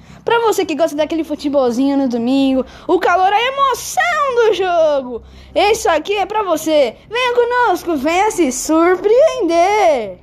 Pra você que gosta daquele futebolzinho no domingo, o calor, a emoção do jogo. Isso aqui é pra você. Venha conosco, venha se surpreender.